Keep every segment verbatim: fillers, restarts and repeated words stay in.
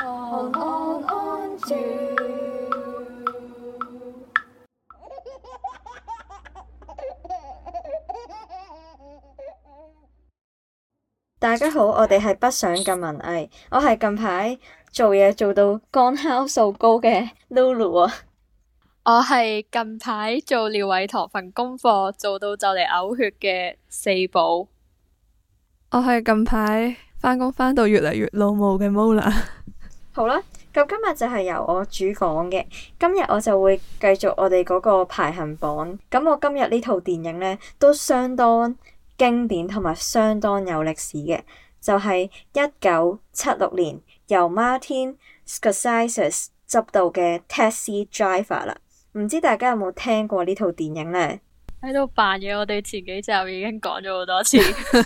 On, on, on to 大家好，我哋係不想咁文藝，我係近排做嘢做到肝酵素高嘅 Lulu 啊， 我係近排做廖偉棠份功課做到就嚟嘔血嘅四寶， 我係近排返工返到越嚟越老母嘅 Mola。 好啦，咁今日就係由我主講嘅，今日我就會繼續我哋嗰個排行榜。咁我今日呢套電影呢，都相當經典同埋相當有歷史嘅，就係一九七六年由 Martin Scorsese 執導嘅 Taxi Driver 啦。唔知大家有冇聽過呢套電影呢？ 喺度扮嘢，我哋前幾集已經講咗好多次。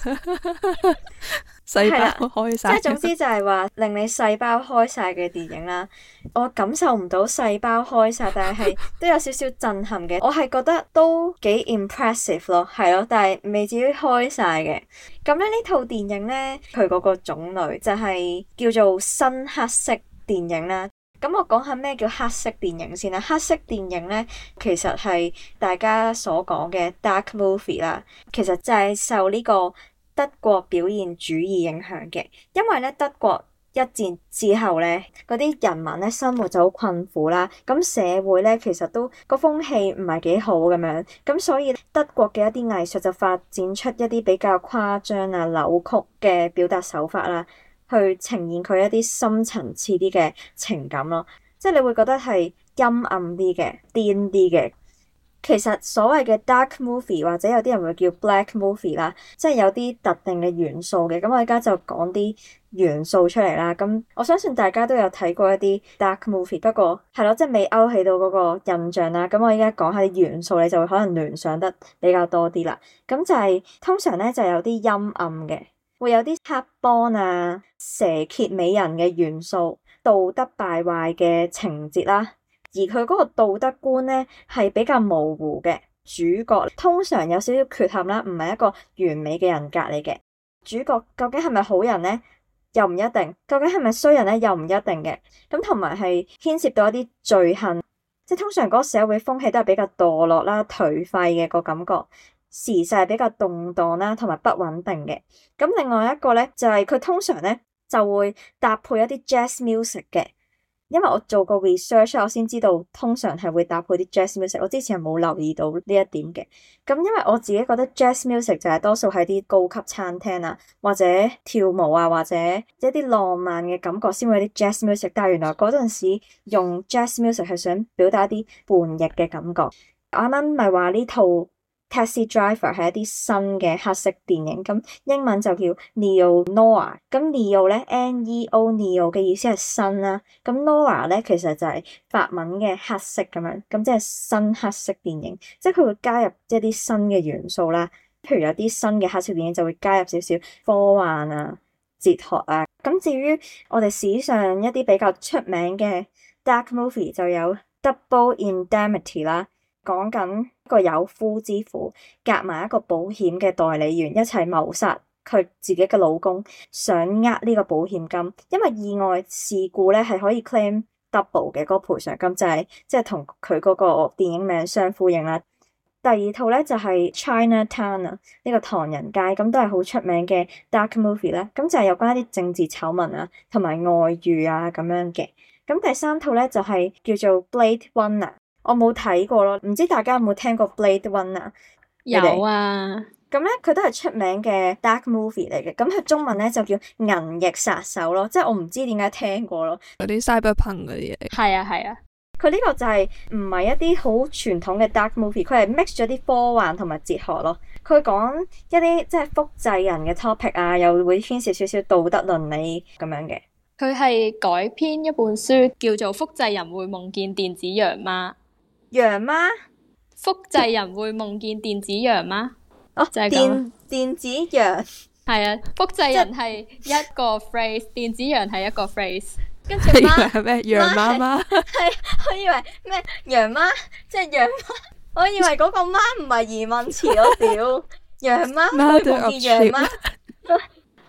細胞開晒， 即係總之就係話令你細胞開晒嘅電影啦。我感受唔到細胞開晒，但係都有少少震撼嘅。我係覺得都幾 impressive 咯，係咯，但係未至於開晒嘅。咁咧呢套電影咧，佢嗰個種類就係叫做新黑色電影啦。咁我講下咩叫黑色電影先啦。黑色電影咧，其實係大家所講嘅 dark movie 啦。其實就係受呢個德國表現主義影響嘅，因為咧德國一戰之後咧，嗰啲人民咧生活就好困苦啦，咁社會咧其實都個風氣唔係幾好咁樣，咁所以德國嘅一啲藝術就發展出一啲比較誇張啊、扭曲嘅表達手法啦，去呈現佢一啲深層次啲嘅情感咯，即係你會覺得係陰暗啲嘅、癲啲嘅。其實所謂嘅 dark movie 或者有啲人會叫 black movie 啦，即係有啲特定嘅元素嘅。咁我而家就講啲元素出嚟啦。咁我相信大家都有睇過一啲 dark movie，不過係咯，即係未勾起到嗰個印象啦。咁我而家講下啲元素，你就會可能聯想得比較多啲啦。咁就係、是、通常咧就有啲陰暗嘅，會有啲黑幫啊、蛇蠍美人嘅元素、道德敗壞嘅情節啦。而佢嗰個道德觀咧係比較模糊嘅，主角通常有少少缺陷啦，唔係一個完美嘅人格嚟嘅。主角究竟係咪好人咧？又唔一定。究竟係咪衰人咧？又唔一定嘅。咁同埋係牽涉到一啲罪行，即係通常嗰個社會風氣都係比較墮落啦、頹廢嘅個感覺，時勢係比較動盪啦，同埋不穩定嘅。咁另外一個咧就係、是、佢通常咧就會搭配一啲 jazz music 嘅。因為我做過 research，我先知道通常係會搭配啲 jazz music。我之前係冇留意到呢一點嘅。咁因為我自己覺得 jazz music 就係多數喺啲高級餐廳啊，或者跳舞啊，或者一啲浪漫嘅感覺先會有啲 jazz music。但係原來嗰陣時用 jazz music 係想表達一啲叛逆嘅感覺。我啱啱咪話呢套 Taxi Driver 係一啲新嘅黑色電影，咁英文就叫 Neo-Noir。咁 Neo 咧 N E O Neo 嘅意思係新啦，咁 Noir 咧其實就係法文嘅黑色咁樣，咁即係新黑色電影，即係佢會加入一啲新嘅元素啦。譬如有啲新嘅黑色電影就會加入少少科幻啊、哲學啊。咁至於我哋史上一啲比較出名嘅 dark movie 就有 Double Indemnity 啦。講緊一個有夫之婦夾埋一個保險嘅代理員一齊謀殺佢自己嘅老公，想呃呢個保險金，因為意外事故咧係可以 claim double 嘅嗰個賠償金，就係即係同佢嗰個電影名相呼應啦。第二套咧就係 Chinatown 啊，呢個唐人街，咁都係好出名嘅 dark movie 啦。咁就係有關一啲政治醜聞啊，同埋外遇啊咁樣嘅。咁第三套咧就係叫做 Blade Runner。我冇睇過咯，唔知大家有冇聽過 Blade Runner？ 有啊， 咁咧佢都係出名嘅 dark movie 嚟嘅，咁佢中文咧就叫銀翼殺手咯，即係我唔知點解聽過咯。 嗰啲 cyberpunk 嗰啲嘢。 係啊係啊， 佢呢個就係唔係一啲好傳統嘅 dark movie，佢係 mix 咗啲科幻同埋哲學咯。佢講一啲即係複製人嘅 topic 啊，又會牽涉少少道德倫理咁樣嘅。 佢係改編一本書叫做《複製人會夢見電子羊媽》。 羊媽？ 複製人會夢見電子羊媽？ 哦， 就係電電子羊。 係啊，複製人係一個 phrase，電子羊係一個 phrase。 跟住媽係咩？羊媽媽？ 係，我以為咩羊媽，即係羊媽。我以為嗰個媽唔係疑問詞咯，屌羊媽會夢見羊媽。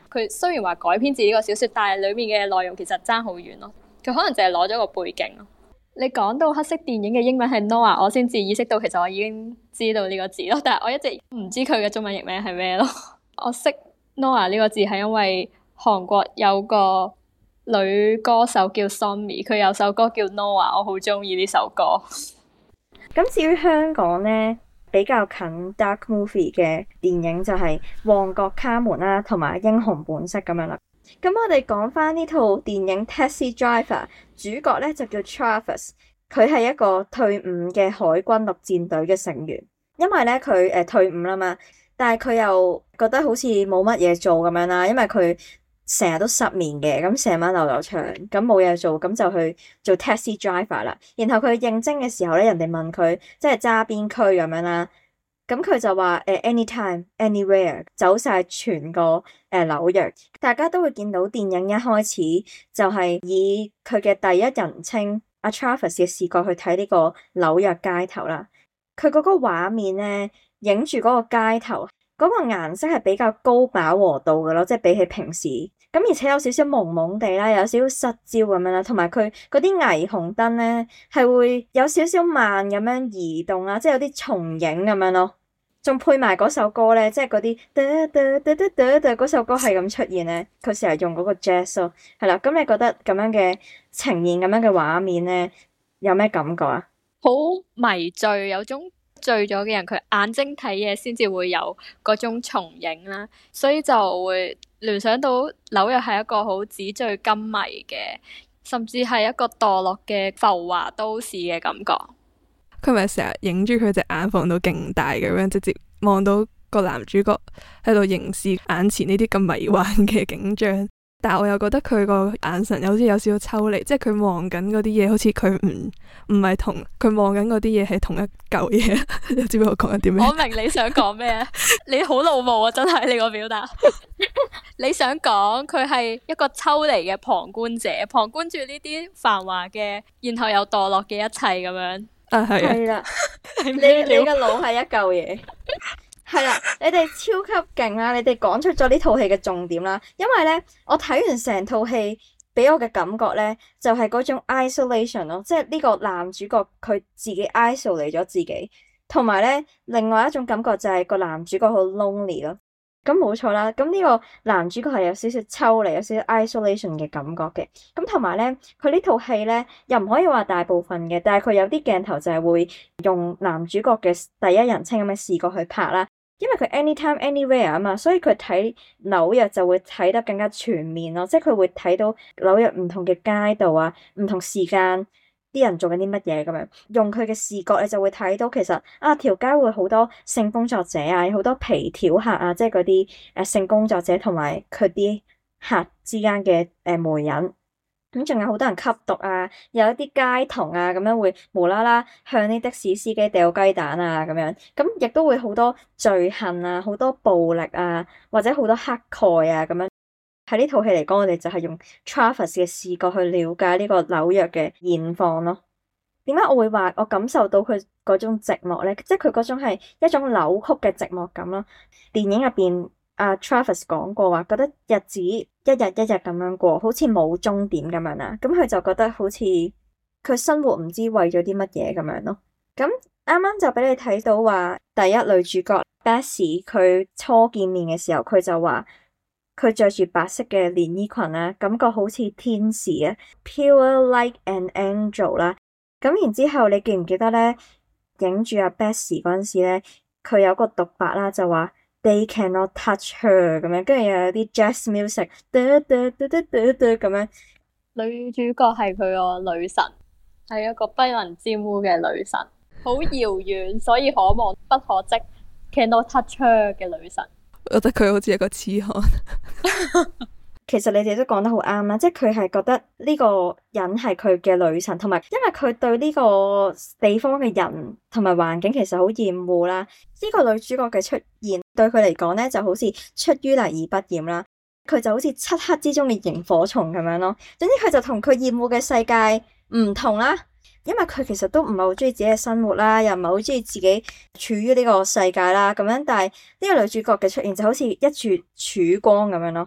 佢雖然話改編自呢個小說，但係裏面嘅內容其實爭好遠咯。佢可能淨係攞咗個背景咯。你講到黑色電影嘅英文係 Noir，我先至意識到其實我已經知道呢個字咯，但係我一直唔知佢嘅中文譯名係咩咯。我識 Noir 呢個字係因為韓國有個女歌手叫 Sunmi， 佢有首歌叫 Noir， 我好中意呢首歌。 咁至於香港呢，比較近 dark movie 嘅電影就係《旺角卡門》啦，同埋《英雄本色》咁樣啦。咁我哋講翻呢套電影《Taxi Driver》，主角咧就叫 Travis， 佢係一個退伍嘅海軍陸戰隊嘅成員。因為咧佢誒退伍啦嘛，但係佢又覺得好似冇乜嘢做咁樣啦，因為佢成日都失眠嘅，咁成晚流流長，咁冇嘢做，咁就去做 Taxi Driver 啦。然後佢應徵嘅時候咧，人哋問佢即係揸邊區咁樣啦。咁佢就話誒 anytime anywhere 走晒全個誒紐約，大家都會見到電影一開始就係以佢嘅第一人稱阿 Travis 嘅視角去睇呢個紐約街頭啦。佢嗰個畫面咧，影住嗰個街頭嗰個顏色係比較高飽和度嘅咯，即係比起平時咁，而且有少少朦朦地啦，有少少失焦咁樣啦，同埋佢嗰啲霓虹燈咧係會有少少慢咁樣移動啦，即係有啲重影咁樣咯。仲配埋嗰首歌咧，即係嗰啲噠噠噠噠噠噠嗰首歌係咁出現咧，佢成日用嗰個 jazz 咯，係啦。咁你覺得咁樣嘅呈現咁樣嘅畫面咧，有咩感覺啊？ 好迷醉，有種醉咗嘅人，佢眼睛睇嘢先至會有嗰種重影啦，所以就會聯想到紐約係一個好紙醉金迷嘅，甚至係一個墮落嘅浮華都市嘅感覺。 佢咪成日影住佢隻眼放到勁大咁樣，直接望到個男主角喺度凝視眼前呢啲咁迷幻嘅景象。但係我又覺得佢個眼神好似有少少抽離，即係佢望緊嗰啲嘢，好似佢唔唔係同佢望緊嗰啲嘢係同一嚿嘢。你知唔知我講緊啲咩？ 我明你想講咩？你好怒目啊！真係你個表達。你想講佢係一個抽離嘅旁觀者，旁觀住呢啲繁華嘅，然後又墮落嘅一切咁樣。 啊，係啊， 係啦，你你個腦係一嚿嘢，係啦，你哋超級勁啦！你哋講出咗呢套戲嘅重點啦，因為咧，我睇完成套戲，俾我嘅感覺咧，就係嗰種 isolation 咯，即係呢個男主角佢自己 isolate 咗自己，同埋咧，另外一種感覺就係個男主角好 lonely 咯。咁冇錯啦，咁呢個男主角係有少少抽離，有少少 isolation 嘅感覺嘅。咁同埋咧，佢呢套戲咧又唔可以話大部分嘅，但係佢有啲鏡頭就係會用男主角嘅第一人稱咁嘅視角去拍啦。因為佢 anytime anywhere 啊嘛，所以佢睇紐約就會睇得更加全面咯。即係佢會睇到紐約唔同嘅街道啊，唔同時間啲人做緊啲乜嘢咁樣，用佢嘅視覺你就會睇到其實啊條街會好多性工作者啊，有好多皮條客啊，即係嗰啲誒性工作者同埋佢啲客之間嘅誒媒人，咁仲有好多人吸毒啊，有一啲街童啊咁樣會無啦啦向啲的士司機掉雞蛋啊咁樣，咁亦都會好多罪行啊，好多暴力啊，或者好多乞丐啊咁樣。喺呢套戲嚟講，我哋就係用 Travis 嘅視角去了解呢個紐約嘅現況咯。點解我會話我感受到佢嗰種寂寞咧？即係佢嗰種係一種扭曲嘅寂寞感咯。電影入邊，阿 Travis 講過話，覺得日子一日一日咁樣過，好似冇終點咁樣啦。咁佢就覺得好似佢生活唔知為咗啲乜嘢咁樣咯。咁啱啱就俾你睇到話，第一女主角 Bessie 佢初見面嘅時候，佢就話，佢着住白色嘅連衣裙啦，感覺好似天使啊 ，pure like an angel 啦。咁然之後，你記唔記得咧？影住阿 Bessie 嗰陣時咧，佢有個獨白啦，就話 They cannot touch her 咁樣，跟住又有啲 jazz music，噠噠噠噠噠噠咁樣。 女主角係佢個女神，係一個不能沾污嘅女神，好遙遠，所以可望不可即 ，cannot touch her 嘅女神。 我覺得佢好似一個痴漢。 其實你哋都講得好啱啦，即係佢係覺得呢個人係佢嘅女神，同埋因為佢對呢個地方嘅人同埋環境其實好厭惡啦。呢個女主角嘅出現對佢嚟講咧就好似出淤泥而不染啦，佢就好似漆黑之中嘅螢火蟲咁樣咯。總之佢就同佢厭惡嘅世界唔同啦。因為佢其實都唔係好中意自己嘅生活啦，又唔係好中意自己處於呢個世界啦，咁樣。但係呢個女主角嘅出現就好似一柱曙光咁樣咯。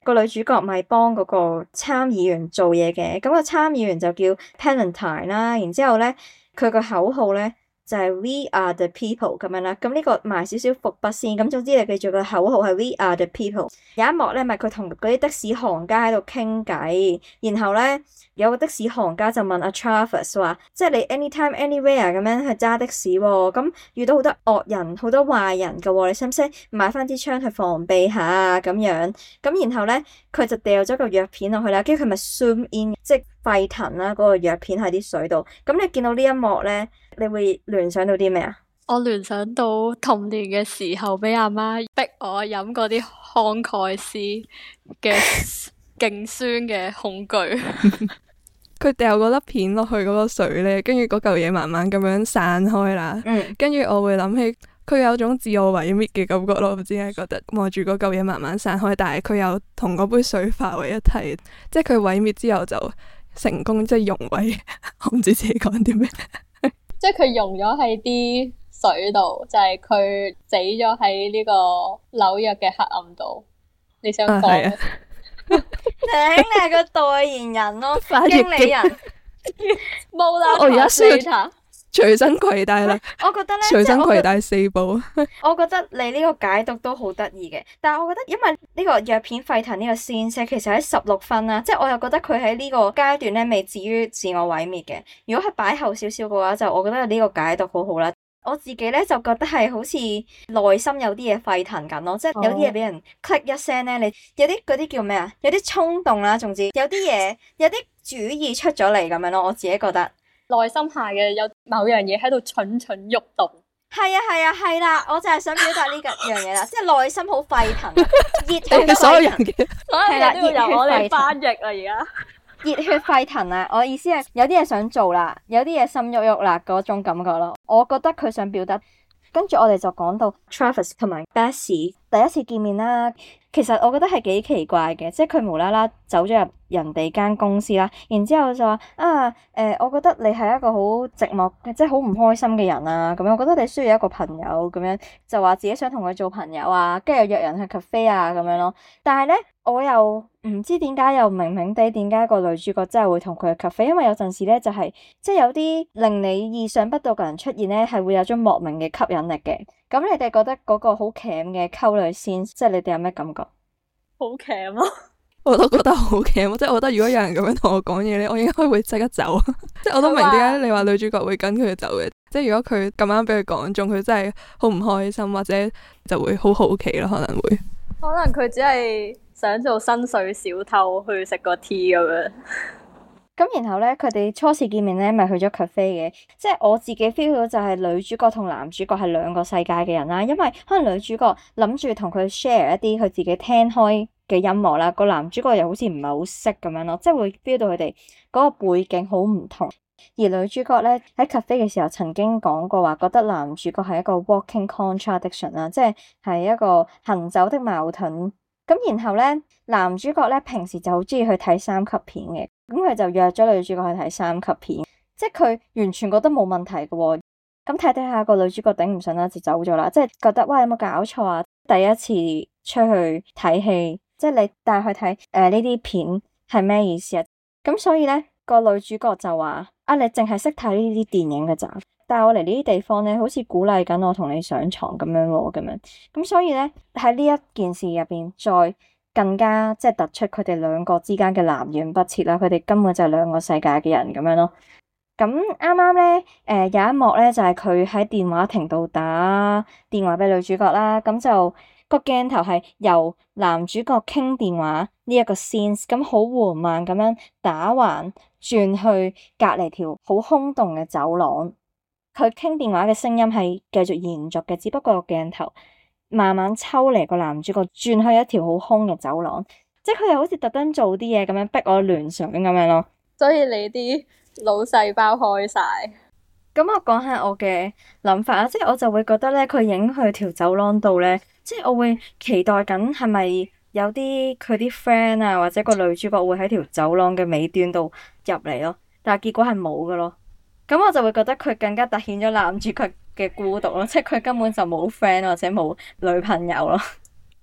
個女主角咪幫嗰個參議員做嘢嘅，咁個參議員就叫 Palantine 啦，然之後咧佢個口號咧就係 We are the people 咁樣啦，咁呢個埋少少伏筆先，咁總之你記住個口號係 We are the people。有一幕咧咪佢同嗰啲的士行家喺度傾偈，然後咧有個的士行家就問阿 Travis 話，即係你 anytime anywhere 咁樣去揸的士喎，咁遇到好多惡人好多壞人㗎喎，你使唔使買翻支槍去防備下啊咁樣？咁然後咧佢就掉咗個藥片落去啦，跟住佢咪 zoom in 即係沸騰啦嗰個藥片喺啲水度，咁你見到呢一幕咧，你會聯想到啲咩啊？ 我聯想到童年嘅時候，俾阿媽逼我飲嗰啲康蓋斯嘅勁酸嘅恐懼。 佢掉嗰粒片落去嗰個水咧，跟住嗰嚿嘢慢慢咁樣散開啦。嗯，跟住我會諗起佢有種自我毀滅嘅感覺咯。唔知點解覺得望住嗰嚿嘢慢慢散開，但係佢又同嗰杯水化為一體，即係佢毀滅之後就成功即係溶毀。我唔知自己講啲咩。 即係佢溶咗喺啲水度，就係佢死咗喺呢個紐約嘅黑暗度。你想講？頂、啊， 你係個代言人咯，經理人。 冇啦， 我而家需要隨身攜帶啦。 我覺得咧， 隨身攜帶四部。 我覺得你呢個解讀都好得意嘅，但係我覺得因為呢個藥片沸騰呢個先聲其實喺十六分啦，即係我又覺得佢喺呢個階段咧未至於自我毀滅嘅。如果係擺後少少嘅話，就我覺得呢個解讀好好啦。我自己咧就覺得係好似內心有啲嘢沸騰緊咯，即係有啲嘢俾人 click 一聲咧，你有啲嗰啲叫咩啊？有啲衝動啦，總之有啲嘢有啲主意出咗嚟咁樣咯。我自己覺得內心下嘅有某樣嘢喺度蠢蠢欲動。 係啊係啊係啦，我就係想表達呢個樣嘢啦，即係內心好沸騰，熱血所有人嘅係啦，都要由我哋翻譯啦而家。 熱血沸騰啊！我意思係有啲嘢想做啦，有啲嘢心喐喐啦嗰種感覺咯。我覺得佢想表達。跟住我哋就講到 Travis 同埋 Bessie 第一次見面啦。其實我覺得係幾奇怪嘅，即係佢無啦啦走咗入人哋間公司啦，然之後就話啊誒、呃，我覺得你係一個好寂寞，即係好唔開心嘅人啊。咁樣我覺得你需要一個朋友咁樣，就話自己想同佢做朋友啊，跟住約人去 cafe 啊咁樣咯。但係咧，我又唔知點解又明明地點解個女主角真係會同佢去 cafe，因為有陣時咧就係、是、即係有啲令你意想不到嘅人出現咧，係會有種莫名嘅吸引力嘅。咁你哋覺得嗰個好鉗嘅溝女先，即係你哋有咩感覺？ 好鉗咯， 我都覺得好鉗，即係我覺得如果有人咁樣同我講嘢咧，我應該會即刻走。即係我都明點解你話女主角會跟佢走嘅，即係如果佢咁啱俾佢講中，佢真係好唔開心，或者就會好好奇咯，可能會。 可能佢只係想做薪水小偷去食個 tea 咁樣。 咁然後咧，佢哋初次見面咧，咪去咗 cafe 嘅。即係我自己 feel 到就係女主角同男主角係兩個世界嘅人啦。因為可能女主角諗住同佢 share 一啲佢自己聽開嘅音樂啦，個男主角又好似唔係好識咁樣咯，即係會 feel 到佢哋嗰個背景好唔同。而女主角咧喺 cafe 嘅時候曾經講過話，覺得男主角係一個 walking contradiction 啦，即係係一個行走的矛盾。咁然後咧，男主角咧平時就好中意去睇三級片嘅。咁佢就約咗女主角去睇三級片，即係佢完全覺得冇問題嘅喎。咁睇睇下個女主角頂唔順啦，就走咗啦。即係覺得哇，有冇搞錯啊？第一次出去睇戲，即係你帶佢睇誒呢啲片係咩意思啊？咁所以咧，個女主角就話：啊，你淨係識睇呢啲電影嘅咋？帶我嚟呢啲地方咧，好似鼓勵緊我同你上床咁樣喎，咁樣。咁所以咧，喺呢一件事入邊再更加即係突出佢哋兩個之間嘅南轅北轍啦，佢哋根本就係兩個世界嘅人咁樣咯。咁啱啱咧，誒有一幕咧就係佢喺電話亭度打電話俾女主角啦，咁就個鏡頭係由男主角傾電話呢一個 scene，咁好緩慢咁樣打橫轉去隔籬條好空洞嘅走廊，佢傾電話嘅聲音係繼續延續嘅，只不過個鏡頭慢慢抽離個男主角，轉去一條好空嘅走廊，即係佢哋好似特登做啲嘢咁樣逼我聯想咁樣咯。 所以你啲腦細胞開晒。 咁我講下我嘅諗法啦，即係我就會覺得咧，佢影去條走廊度咧，即係我會期待緊係咪有啲佢啲 friend 啊，或者個女主角會喺條走廊嘅尾端度入嚟咯，但係結果係冇噶咯。咁我就會覺得佢更加凸顯咗男主角嘅孤獨咯，即係佢根本就冇 friend 或者冇女朋友咯。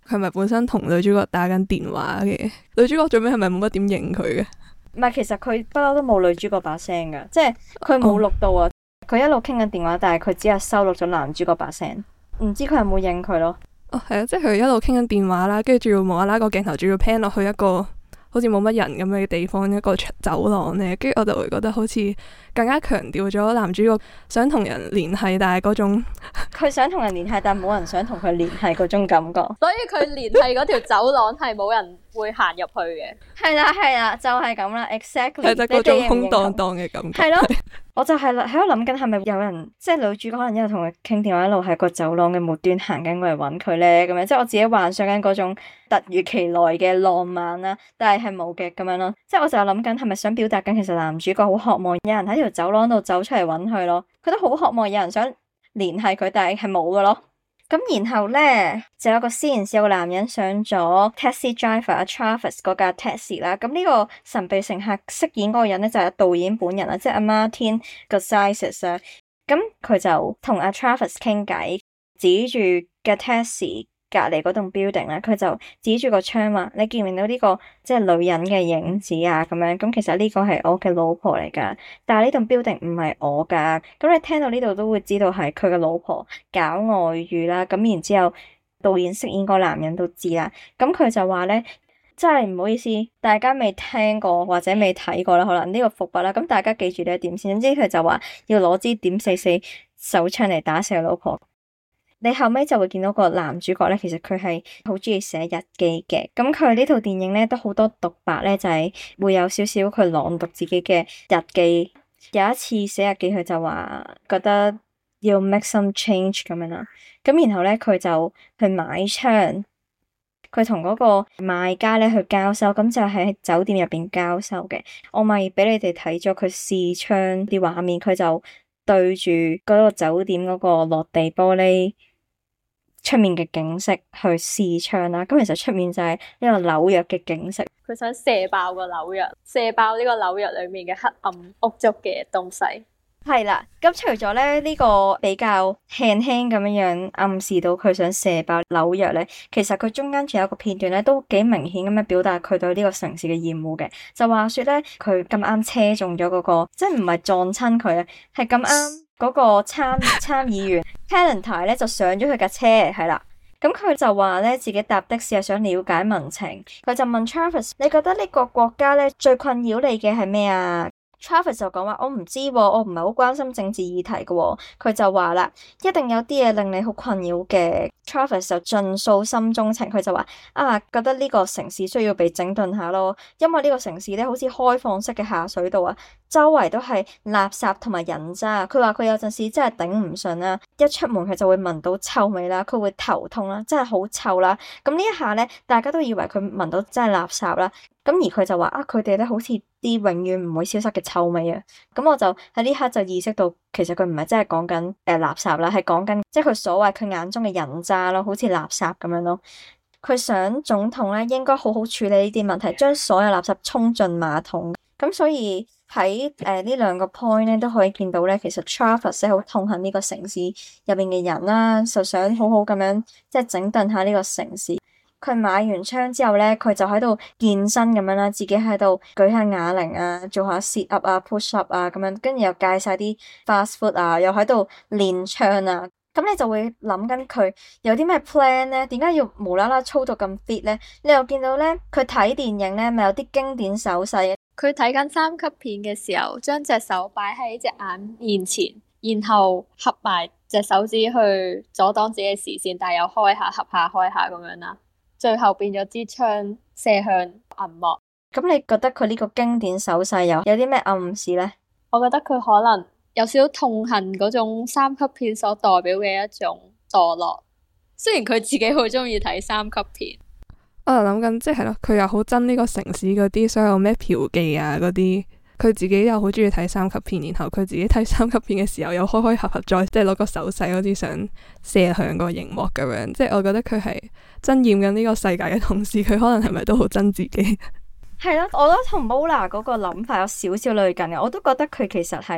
佢係咪本身同女主角打緊電話嘅？女主角最尾係咪冇乜點應佢嘅？ 唔係，其實佢不嬲都冇女主角把聲噶，即係佢冇錄到啊。佢、oh. 一路傾緊電話，但係佢只係收錄咗男主角把聲，唔知佢有冇應佢咯。 哦，係啊，即係佢一路傾緊電話啦，跟住仲要無啦啦個鏡頭仲要 pan 落去一個好似冇乜人咁嘅地方，一個走廊咧，跟住我就會覺得好似更加強調咗男主角想同人聯繫，但係嗰種佢想同人聯繫，但係冇人想同佢聯繫嗰種感覺。 所以佢聯繫嗰條走廊係冇人會行入去嘅。係啦係啦，就係咁啦 ，exactly。 係就嗰種空蕩蕩嘅感覺。 係咯。我就係喺度諗緊係咪有人，即係女主角可能一路同佢傾電話，一路喺個走廊嘅末端行緊過嚟揾佢咧，咁樣即係我自己幻想緊嗰種突如其來嘅浪漫啦，但係係冇嘅咁樣咯。即係我就諗緊係咪想表達緊其實男主角好渴望有人喺條走廊度走出嚟揾佢咯，佢都好渴望有人想聯繫佢，但係係冇嘅咯。咁然後咧就有個 scene 有個男人上咗 taxi driver 阿 Travis 嗰架 taxi 啦。咁呢個神秘乘客飾演嗰個人咧就係導演本人啦，即係阿 Martin Scorsese 啊。咁佢就同阿 Travis 傾偈，指住架 taxi 隔籬嗰棟 building 咧，佢就指住個窗話：你見唔見到呢個即係女人嘅影子啊？咁樣咁其實呢個係我嘅老婆嚟噶，但係呢棟 building 唔係我噶。咁你聽到呢度都會知道係佢嘅老婆搞外遇啦。咁然之後導演飾演個男人都知啦。咁佢就話咧，真係唔好意思，大家未聽過或者未睇過啦，可能呢個伏筆啦。咁大家記住呢一點先。總之佢就話要攞支點四四手槍嚟打死佢老婆。你後尾就會見到個男主角咧，其實佢係好中意寫日記嘅。咁佢呢套電影咧都好多獨白咧，就係會有少少佢朗讀自己嘅日記。有一次寫日記，佢就話覺得要 make some change 咁樣啦。咁然後咧佢就去買槍，佢同嗰個賣家咧去交收，咁就喺酒店入邊交收嘅。我咪俾你哋睇咗佢試槍啲畫面，佢就對住嗰個酒店嗰個落地玻璃出面嘅景色去試槍啦。咁其實出面就係呢個紐約嘅景色。 佢想射爆個紐約，射爆呢個紐約裏面嘅黑暗屋築嘅東西。 係啦，咁除咗咧呢個比較輕輕咁樣樣暗示到佢想射爆紐約咧，其實佢中間仲有一個片段咧，都幾明顯咁樣表達佢對呢個城市嘅厭惡嘅。就話說咧，佢咁啱車中咗嗰個，即係唔係撞親佢啊，係咁啱嗰個參參議員 Pallantine 咧就上咗佢架車，係啦。咁佢就話咧自己搭的士係想了解民情，佢就問 Travis：你覺得呢個國家咧最困擾你嘅係咩啊？Travis 就講話我唔知喎，我唔係好關心政治議題嘅喎。佢就話啦，一定有啲嘢令你好困擾嘅。Travis 就盡訴心中情，佢就話啊，覺得呢個城市需要被整頓下咯，因為呢個城市咧好似開放式嘅下水道啊，周圍都係垃圾同埋人渣。佢話佢有陣時真係頂唔順啦，一出門佢就會聞到臭味啦，佢會頭痛啦，真係好臭啦。咁呢一下咧，大家都以為佢聞到真係垃圾啦。咁而佢就話啊，佢哋咧好似啲永遠唔會消失嘅臭味啊。咁我就喺呢刻就意識到，其實佢唔係真係講緊誒垃圾啦，係講緊即係佢所謂佢眼中嘅人渣咯，好似垃圾咁樣咯。佢想總統咧應該好好處理呢啲問題，將所有垃圾沖進馬桶。咁所以喺誒呢兩個 point 咧都可以見到咧，其實 Travis 咧好痛恨呢個城市入邊嘅人啦，就想好好咁樣即係整頓下呢個城市。佢買完槍之後咧，佢就喺度健身咁樣啦，自己喺度舉下啞鈴啊，做下 sit up 啊 push up 啊咁樣，跟住又戒晒啲 fast food 啊，又喺度練槍啊。咁你就會諗緊佢有啲咩 plan 咧？點解要無啦啦操到咁 fit 咧？你又見到咧，佢睇電影咧，咪有啲經典手勢。 佢睇緊三級片嘅時候，將隻手擺喺隻眼面前，然後合埋隻手指去阻擋自己嘅視線，但係又開下合下開下咁樣啦。最後變咗支槍射向銀幕。 咁你覺得佢呢個經典手勢有有啲咩暗示咧？ 我覺得佢可能有少少痛恨嗰種三級片所代表嘅一種墮落。雖然佢自己好中意睇三級片， 我就諗緊即係咯，佢又好憎呢個城市嗰啲所有咩嫖妓啊嗰啲。佢自己又好中意睇三級片，然後佢自己睇三級片嘅時候又開開合合再即係攞個手勢好似想射向個熒幕咁樣，即係我覺得佢係憎厭緊呢個世界嘅同時，佢可能係咪都好憎自己？ 係咯，我覺得同 Mola 嗰個諗法有少少類近嘅，我都覺得佢其實係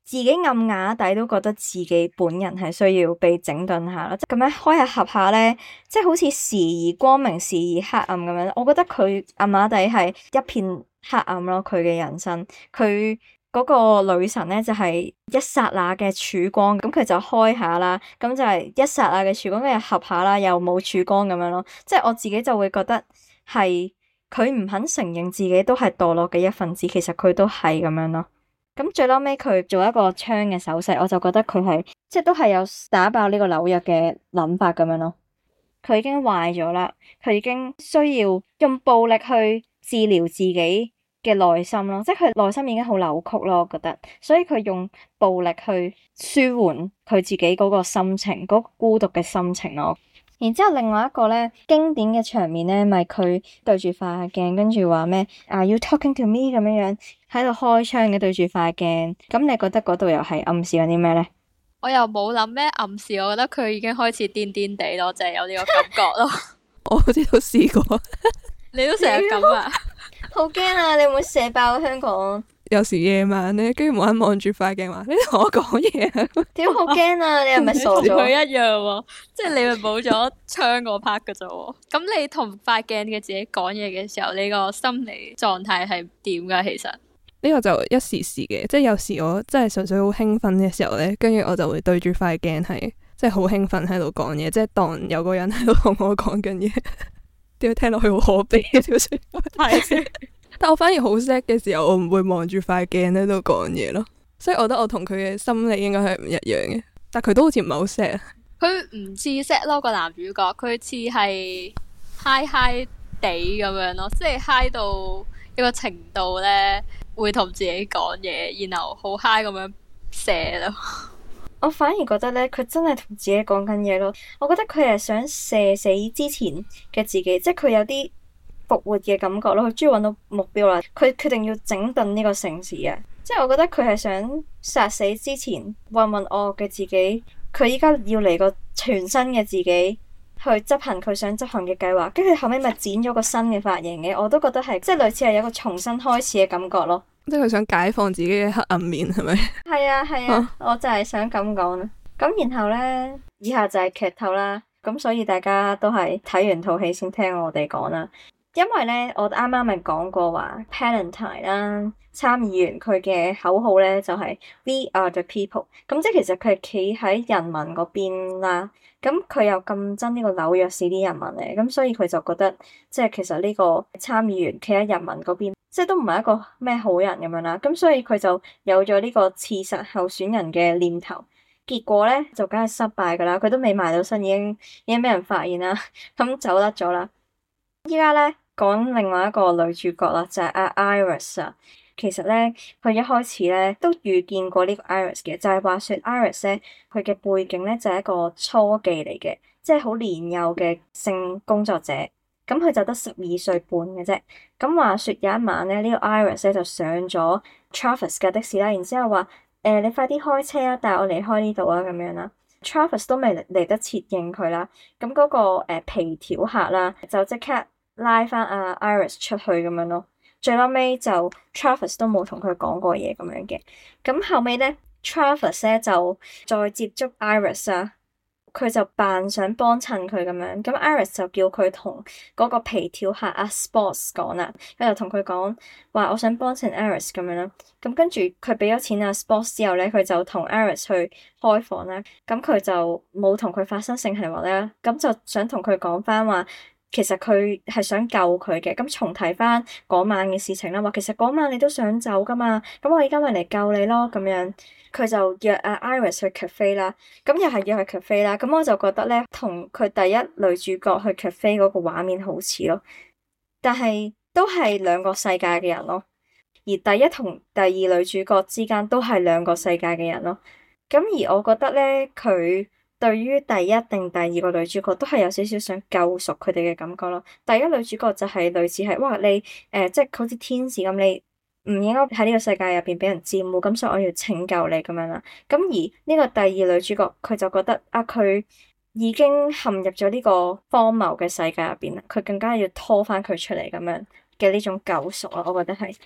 自己暗啞底都覺得自己本人係需要被整頓下啦，即係咁樣開下合下咧，即係好似時而光明時而黑暗咁樣。我覺得佢暗啞底係一片黑暗咯，佢嘅人生，佢嗰個女神咧就係一剎那嘅曙光，咁佢就開下啦，咁就係一剎那嘅曙光，跟住合下啦，又冇曙光咁樣咯。即係我自己就會覺得係佢唔肯承認自己都係墮落嘅一份子，其實佢都係咁樣咯。咁最嬲尾佢做一個槍嘅手勢，我就覺得佢係即係都係有打爆呢個紐約嘅諗法咁樣咯。佢已經壞咗啦，佢已經需要用暴力去治療自己嘅內心咯，即係佢內心已經好扭曲咯，我覺得，所以佢用暴力去舒緩佢自己嗰個心情，嗰個孤獨嘅心情咯。然之後另外一個咧經典嘅場面咧，咪佢對住塊鏡，跟住話咩？Are you talking to me？咁樣樣喺度開槍嘅對住塊鏡，咁你覺得嗰度又係暗示緊啲咩咧？ 我又冇諗咩暗示，我覺得佢已經開始癲癲地咯，就係有呢個感覺咯。 我好似都試過， 你都成日咁啊？ 好驚啊！你會唔會射爆香港？ 有時夜晚咧，跟住冇人望住塊鏡話：你同我講嘢啊！ 屌好驚啊！你係咪傻咗？ 佢一樣喎，即係你咪冇咗槍嗰 part 㗎啫喎。咁你同塊鏡嘅自己講嘢嘅時候，你個心理狀態係點㗎？其實呢個就一時時嘅，即係有時我真係純粹好興奮嘅時候咧，跟住我就會對住塊鏡係即係好興奮喺度講嘢，即係當有個人喺度同我講緊嘢。點解聽落去好可悲嘅條說話？係，但我反而好 sad 嘅時候，我唔會望住塊鏡喺度講嘢咯。所以我覺得我同佢嘅心理應該係唔一樣嘅。但佢都好似唔係好 sad。佢唔似 sad 咯，個男主角，佢似係 high high 地咁樣咯，即係 high 到一個程度咧，會同自己講嘢，然後好 high 咁樣射咯。 我反而覺得咧，佢真係同自己講緊嘢咯。我覺得佢係想射死之前嘅自己，即係佢有啲復活嘅感覺咯。佢終於揾到目標啦，佢決定要整頓呢個城市啊！即係我覺得佢係想殺死之前渾渾噩噩嘅自己，佢依家要嚟個全新嘅自己去執行佢想執行嘅計劃。跟住後尾咪剪咗個新嘅髮型嘅，我都覺得係即係類似係有個重新開始嘅感覺咯。 即係佢想解放自己嘅黑暗面，係咪？ 係啊係啊，啊我就係想咁講啦。咁然後咧，以下就係劇透啦。咁所以大家都係睇完套戲先聽我哋講啦。因為咧，我啱啱咪講過話 Palantine 啦，參議員佢嘅口號咧就係 We are the people。咁即係其實佢係企喺人民嗰邊啦。咁佢又咁憎呢個紐約市啲人民咧，咁所以佢就覺得即係其實呢個參議員企喺人民嗰邊，即係都唔係一個咩好人咁樣啦。咁所以佢就有咗呢個刺殺候選人嘅念頭。結果咧就梗係失敗噶啦，佢都未埋到身，已經已經俾人發現啦，咁走甩咗啦。依家咧講另外一個女主角啦，就係阿 Iris 啊。其實咧，佢一開始咧都預見過呢個 Iris 嘅，就係話說 Iris 咧，佢嘅背景咧就係一個初妓嚟嘅，即係好年幼嘅性工作者。咁佢就得十二歲半嘅啫。咁話說有一晚咧，呢個 Iris 咧就上咗 Travis 嘅的士啦，然之後話誒你快啲開車啊，帶我離開呢度啊咁樣啦。Travis 都未嚟得切應佢啦。咁嗰個誒皮條客啦，就即刻拉翻阿 Iris 出去咁樣咯。最後尾就 Travis 都冇同佢講過嘢咁樣嘅，咁後尾咧 Travis 咧就再接觸 Iris 啊，佢就扮想幫襯佢咁樣，咁 Iris 就叫佢同嗰個皮條客阿 Sports 講啦，佢就同佢講話我想幫襯 Iris 咁樣啦，咁跟住佢俾咗錢阿 Sports 之後咧，佢就同 Iris 去開房啦，咁佢就冇同佢發生性行為啦，咁就想同佢講翻話。其實佢係想救佢嘅，咁重提翻嗰晚嘅事情啦。話其實嗰晚你都想走噶嘛，咁我而家咪嚟救你咯。咁樣佢就約阿 Iris 去 cafe 啦，咁又係約去 cafe 啦。咁我就覺得咧，同佢第一女主角去 cafe 嗰個畫面好似咯，但係都係兩個世界嘅人咯。而第一同第二女主角之間都係兩個世界嘅人咯。咁而我覺得咧，佢。對於第一定第二個女主角都係有少少想救贖佢哋嘅感覺咯。第一女主角就係類似係哇你誒、呃、即係好似天使咁，你唔應該喺呢個世界入邊俾人佔污，咁所以我要拯救你咁樣啦。咁而呢個第二女主角佢就覺得啊，佢已經陷入咗呢個荒謬嘅世界入邊啦，佢更加要拖翻佢出嚟咁樣嘅呢種救贖啊，我覺得係。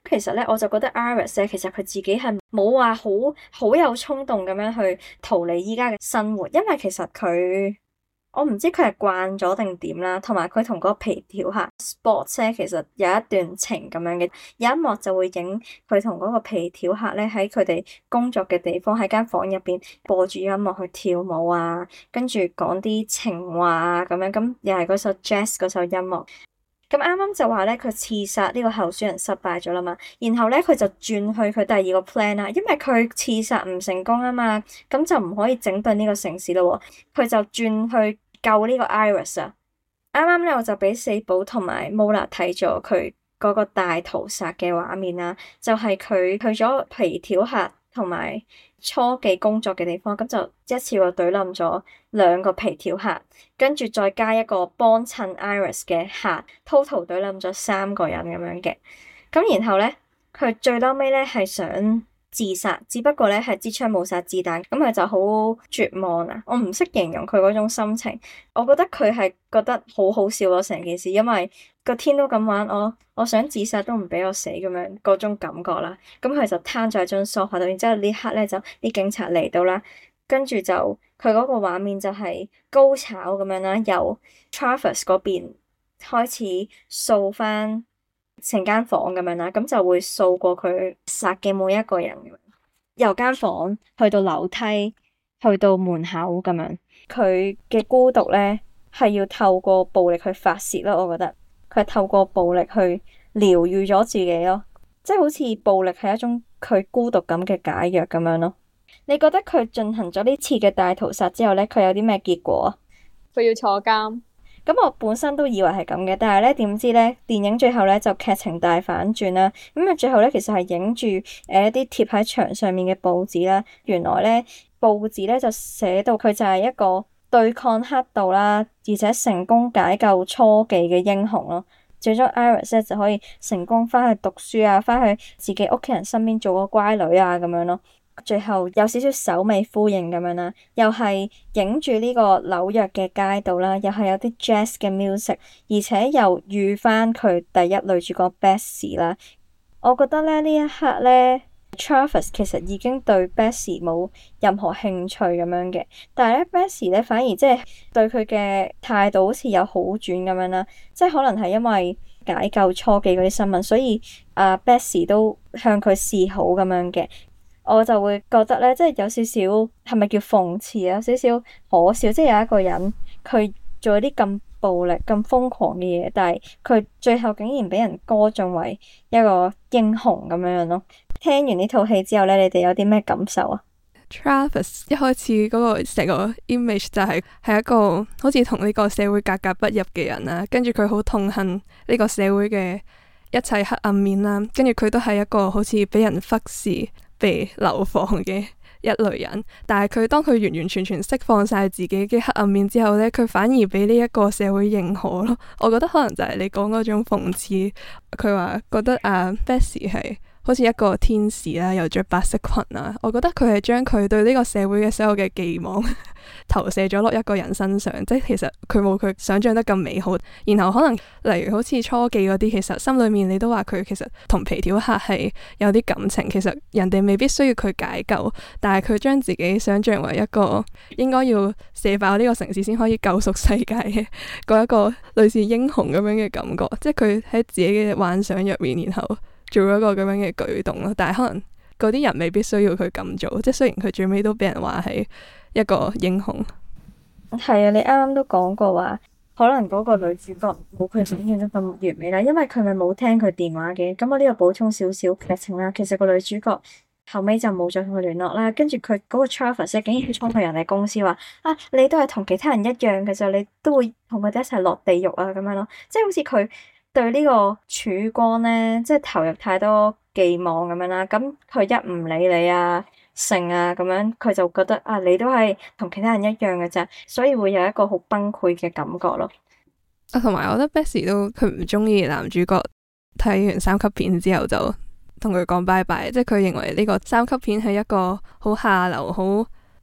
其實咧，我就覺得 Iris 咧，其實佢自己係冇話好好有衝動咁樣去逃離依家嘅生活，因為其實佢我唔知佢係慣咗定點啦，同埋佢同嗰個皮條客 Sports 咧，其實有一段情咁樣嘅，有一幕就會影佢同嗰個皮條客咧喺佢哋工作嘅地方喺間房入邊播住音樂去跳舞啊，跟住講啲情話啊咁樣，咁又係嗰首 Jazz 嗰首音樂。咁啱啱就話咧，佢刺殺呢個候選人失敗咗啦嘛，然後咧佢就轉去佢第二個 plan 啦，因為佢刺殺唔成功啊嘛，咁就唔可以整頓呢個城市咯，佢就轉去救呢個 Iris 啊。啱啱咧我就俾四寶同埋 Mola 睇咗佢嗰個大屠殺嘅畫面啦，就係、是、佢去咗皮條客同埋初期工作嘅地方，咁就一次過懟冧咗兩個皮條客，跟住再加一個幫襯 Iris 嘅客 total 懟冧咗三個人咁樣嘅。咁然後咧，佢最嬲尾咧係想自殺，只不過咧係支槍冇殺子彈，咁佢就好絕望啊！我唔識形容佢嗰種心情，我覺得佢係覺得好好笑咯成件事，因為個天都咁玩，我我想自殺都唔俾我死咁樣嗰種感覺啦。咁佢就攤咗喺張梳化度，然之後呢刻咧就啲警察嚟到啦，跟住就佢嗰個畫面就係高潮咁樣啦，由 Travis 嗰邊開始掃翻成間房咁樣啦，咁就會掃過佢殺嘅每一個人，由間房去到樓梯，去到門口咁樣。佢嘅孤獨咧係要透過暴力去發洩咯，我覺得佢係透過暴力去療癒咗自己咯，即係好似暴力係一種佢孤獨感嘅解藥咁樣咯。你覺得佢進行咗呢次嘅大屠殺之後咧，佢有啲咩結果啊？ 佢要坐監。 咁我本身都以為係咁嘅，但係咧點知咧電影最後咧就劇情大反轉啦。咁啊最後咧其實係影住誒一啲貼喺牆上面嘅報紙啦。原來咧報紙咧就寫到佢就係一個對抗黑道啦，而且成功解救初期嘅英雄咯。最終 Iris 咧就可以成功翻去讀書啊，翻去自己屋企人身邊做個乖女啊咁樣咯。最後有少少首尾呼應咁樣啦，又係影住呢個紐約嘅街道啦，又係有啲 jazz 嘅 music， 而且又遇翻佢第一女主角 Bessie 啦。我覺得咧呢一刻咧 Travis 其實已經對 Bessie 冇任何興趣咁樣嘅，但係咧 Bessie 咧反而即係對佢嘅態度好似有好轉咁樣啦，即係可能係因為解救初期嗰啲新聞，所以啊 Bessie 都向佢示好咁樣嘅。我就會覺得咧，即係有少少係咪叫諷刺啊？有少少可笑，即係有一個人佢做啲咁暴力、咁瘋狂嘅嘢，但係佢最後竟然俾人歌頌為一個英雄咁樣樣咯。聽完呢套戲之後咧，你哋有啲咩感受啊？ Travis 一開始嗰個成個 image 就係係一個好似同呢個社會格格不入嘅人啦，跟住佢好痛恨呢個社會嘅一切黑暗面啦，跟住佢都係一個好似俾人忽視、被流放嘅一類人，但係佢當佢完完全全釋放晒自己嘅黑暗面之後呢，佢反而俾呢一個社會認可咯。我覺得可能就係你講嗰種諷刺，佢話覺得啊 Bessie 係好似一個天使啦，又着白色裙啊。我覺得佢係將佢對呢個社會嘅所有嘅寄望投射咗落一個人身上，即係其實佢冇佢想象得咁美好。然後可能例如好似初記嗰啲，其實心裏面你都話佢其實同皮條客係有啲感情，其實人哋未必需要佢解救，但係佢將自己想象為一個應該要射爆呢個城市先可以救贖世界嘅嗰一個類似英雄咁樣嘅感覺，即係佢喺自己嘅幻想入面，然後做咗一個咁樣嘅舉動咯。但係可能嗰啲人未必需要佢咁做，即係雖然佢最尾都俾人話係一個英雄。 係啊，你啱啱都講過話，可能嗰個女主角冇佢想象得咁完美啦，因為佢咪冇聽佢電話嘅。咁我呢度補充少少劇情啦。其實個女主角後尾就冇再同佢聯絡啦，跟住佢嗰個 Travis 竟然衝去人哋公司話啊，你都係同其他人一樣嘅啫，你都會同佢哋一齊落地獄啊咁樣咯。即係好似佢對呢個曙光咧，即係投入太多寄望咁樣啦。咁佢一唔理你啊，成啊咁樣，佢就覺得啊，你都係同其他人一樣嘅啫，所以會有一個好崩潰嘅感覺咯。 啊，同埋我覺得 Bessie 都佢唔中意男主角，睇完三級片之後就同佢講拜拜，即係佢認為呢個三級片係一個好下流、好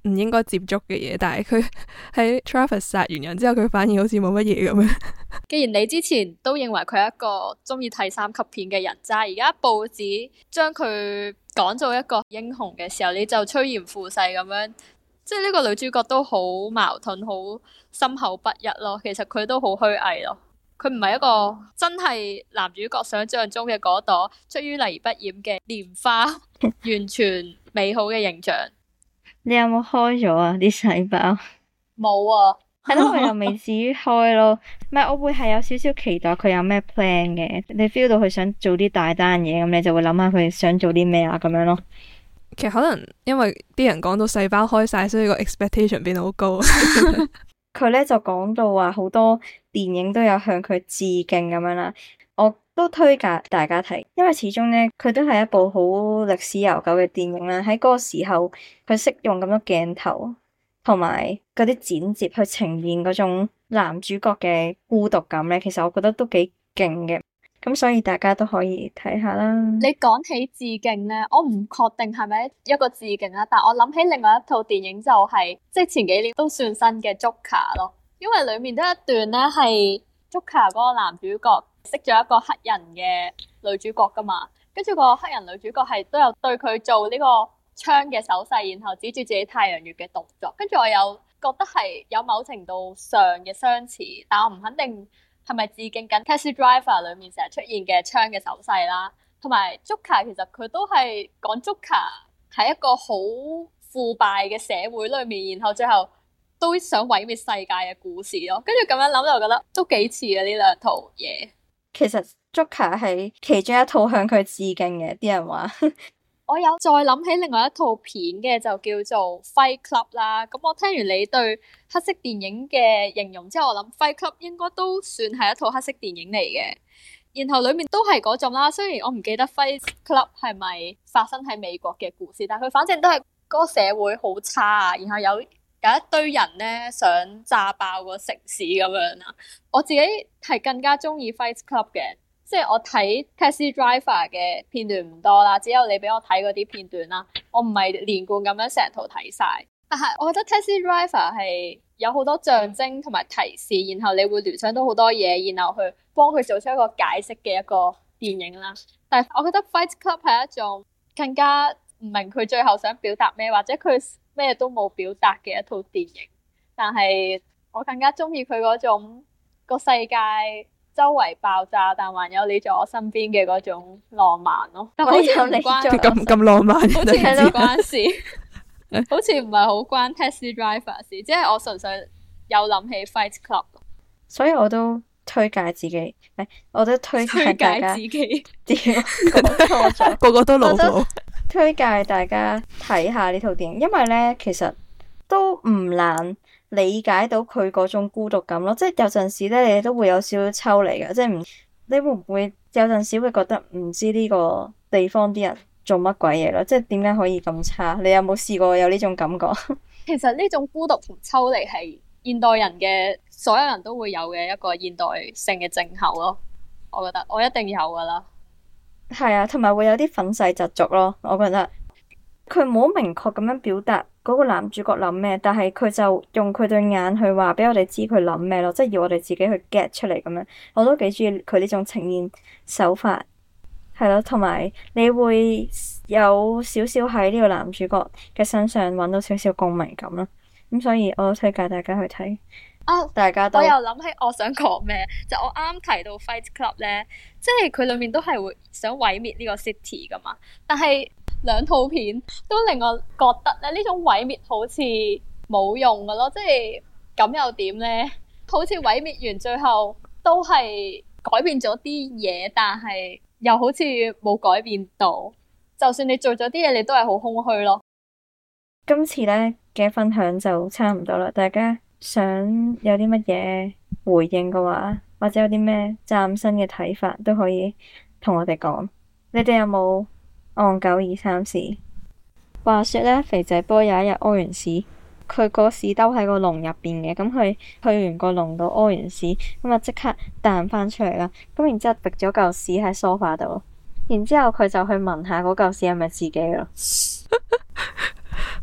唔應該接觸嘅嘢，但係佢喺 Travis 殺完人之後，佢反而好似冇乜嘢咁樣。 既然你之前都認為佢係一個中意睇三級片嘅人渣，而家報紙將佢講做一個英雄嘅時候，你就趨炎附勢咁樣，即係呢個女主角都好矛盾，好心口不一咯。其實佢都好虛偽咯，佢唔係一個真係男主角想象中嘅嗰朵出淤泥而不染嘅蓮花，完全美好嘅形象。 你有冇開咗啊啲細胞？ 冇啊。 係咯，我又未至於開咯。唔係，我會係有少少期待佢有咩 plan 嘅。你 feel 到佢想做啲大單嘢，咁你就會諗下佢想做啲咩啊咁樣咯。 其實可能因為啲人講到細胞開晒，所以個 expectation 變到好高。 佢咧就講到話好多電影都有向佢致敬咁樣啦。我都推介大家睇，因為始終咧佢都係一部好歷史悠久嘅電影啦。喺嗰個時候，佢識用咁多鏡頭。同埋嗰啲剪接去呈現嗰種男主角嘅孤獨感咧，其實我覺得都幾勁嘅，咁所以大家都可以睇下啦。 你講起致敬咧，我唔確定係咪一個致敬啦，但我諗起另外一套電影就係、是、即係前幾年都算新嘅 Joker 咯，因為裡面都有一段咧係 Joker 嗰個男主角識咗一個黑人嘅女主角噶嘛，跟住個黑人女主角係都有對佢做呢、這個槍嘅手勢，然後指住自己太陽穴嘅動作，跟住我有覺得係有某程度上嘅相似，但我唔肯定係咪致敬緊 Taxi Driver 裏面成日出現嘅槍嘅手勢啦。同埋 Joker 其實佢都係講 Joker 喺一個好腐敗嘅社會裏面，然後最後都想毀滅世界嘅故事咯。跟住咁樣諗就覺得都幾似嘅呢兩套嘢。 其實 Joker 係其中一套向佢致敬嘅，啲人話。 我有再諗起另外一套片嘅，就叫做 Fight Club 啦。咁我聽完你對黑色電影嘅形容之後，我諗 Fight Club 應該都算係一套黑色電影嚟嘅。然後裡面都係嗰種啦，雖然我唔記得 Fight Club 係咪發生喺美國嘅故事，但係佢反正都係嗰個社會好差啊。然後有有一堆人咧想炸爆個城市咁樣啦。我自己係更加中意 Fight Club 嘅。即係我睇 Taxi Driver 嘅片段唔多啦，只有你俾我睇嗰啲片段啦。我唔係連貫咁樣成套睇晒，但係我覺得 Taxi Driver 係有好多象徵同埋提示，然後你會聯想到好多嘢，然後去幫佢做出一個解釋嘅一個電影啦。但係我覺得 Fight Club 係一種更加唔明佢最後想表達咩，或者佢咩都冇表達嘅一套電影。但係我更加中意佢嗰種個世界周圍爆炸，但還有你在我身邊嘅嗰種浪漫咯。但好似唔關咁咁浪漫， 好似唔關事，好似唔係好關 Taxi Driver 事，即係我純粹有諗起 Fight Club。 所以我都推介自己，誒，我都推介大家推介自己， 講錯咗， 個個都老母。 推介大家睇下呢套電影，因為咧其實都唔難理解到佢嗰種孤獨感咯，即係有陣時咧，你都會有少少抽離嘅，即係唔，你會唔會有陣時會覺得唔知呢個地方啲人做乜鬼嘢咯？即係點解可以咁差？你有冇試過有呢種感覺？ 其實呢種孤獨同抽離係現代人嘅所有人都會有嘅一個現代性嘅症候咯。我覺得我一定有噶啦。 係啊，同埋會有啲憤世嫉俗咯。我覺得佢冇明確咁樣表達嗰個男主角諗咩，但係佢就用佢對眼去話俾我哋知佢諗咩咯，即係要我哋自己去 get 出嚟咁樣。我都幾中意佢呢種呈現手法，係咯，同埋你會有少少喺呢個男主角嘅身上揾到少少共鳴感咯。咁所以我都推介大家去睇。 啊！ 大家都我又諗起我想講咩，就我啱啱提到 Fight Club 咧，即係佢裏面都係會想毀滅呢個 city 噶嘛。但係兩套片都令我覺得咧，呢種毀滅好似冇用噶咯，即係咁又點咧？好似毀滅完最後都係改變咗啲嘢，但係又好似冇改變到。就算你做咗啲嘢，你都係好空虛咯。 今次咧嘅分享就差唔多啦，大家想有啲乜嘢回應嘅話，或者有啲咩嶄新嘅睇法，都可以同我哋講。你哋有冇戇九二三事？話說咧，肥仔波有一日屙完屎，佢個屎兜喺個籠入邊嘅，咁佢去完個籠度屙完屎，咁啊即刻彈翻出嚟啦。咁然之後滴咗嚿屎喺梳化度，然之後佢就去聞下嗰嚿屎係咪自己咯。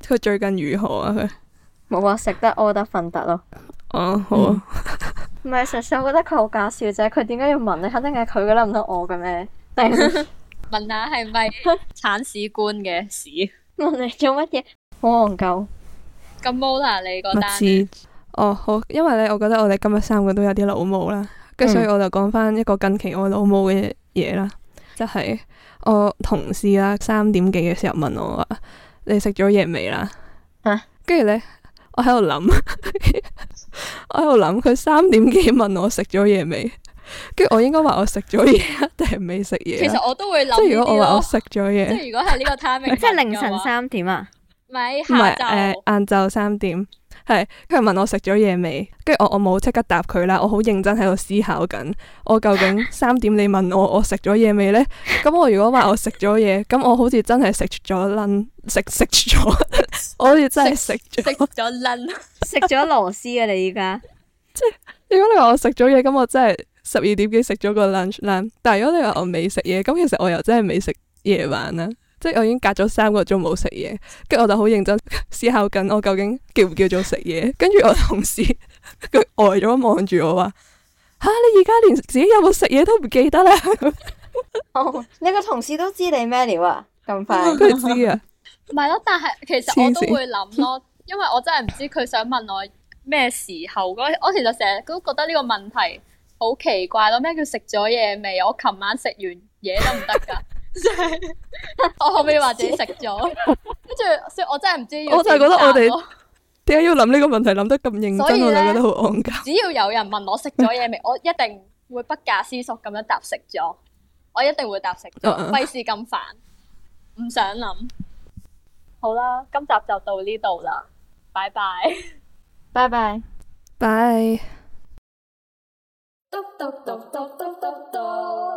佢最近如何啊？佢冇話食得屙得瞓得咯。 哦，好啊。 唔係、嗯，實際我覺得佢好搞笑啫。佢點解要問你？肯定係佢噶啦，唔通我嘅咩？定問下係咪鏟屎官嘅屎？ 問你做乜嘢？好戇鳩。 咁冇啦，你嗰單呢？哦，好，因為咧，我覺得我哋今日三個都有啲老母啦，跟住所以我就講翻一個近期我老母嘅嘢啦，就係、是、我同事啦，三點幾嘅時候問我話：你食咗嘢未啦？跟住咧，我喺度諗，我喺度諗，佢三點幾問我食咗嘢未？跟住我應該話我食咗嘢，定係未食嘢？ 其實我都會諗， 即係如果我話我食咗嘢， 即係如果係呢個 timing， 即係凌晨三點啊？ 唔係， 唔係誒，晏晝三點。係，佢問我食咗嘢未？跟住我我冇即刻答佢啦，我好認真喺度思考緊，我究竟三點你問我我食咗嘢未呢？咁我如果話我食咗嘢，咁我好似真係食咗撚食食咗，我好似真係食咗食咗撚食咗螺絲啊！你依家即係如果你話我食咗嘢，咁我真係十二點幾食咗個 lunch 啦。但係如果你話我未食嘢，咁其實我又真係未食夜晚啦。即係我已經隔咗三個鐘冇食嘢，跟住我就好認真思考緊，我究竟叫唔叫做食嘢？跟住我同事佢呆咗望住我話：吓、啊、你而家連自己有冇食嘢都唔記得啦！ 哦，你個同事都知你咩料啊？咁快佢知啊？ 唔係咯，但係其實我都會諗咯，因為我真係唔知佢想問我咩時候。我其實成日都覺得呢個問題好奇怪咯。咩叫食咗嘢未？我琴晚食完嘢都唔得噶。即係我可唔可以話自己食咗？跟住，所以我真係唔知要。 我就係覺得我哋點解要諗呢個問題諗得咁認真，我就覺得好戇鳩。 只要有人問我食咗嘢未，我一定會不假思索咁樣答食咗。我一定會答食咗，費事咁煩，唔想諗。好啦，今集就到呢度啦，拜拜， 拜拜， 拜。 嘟嘟嘟嘟嘟嘟嘟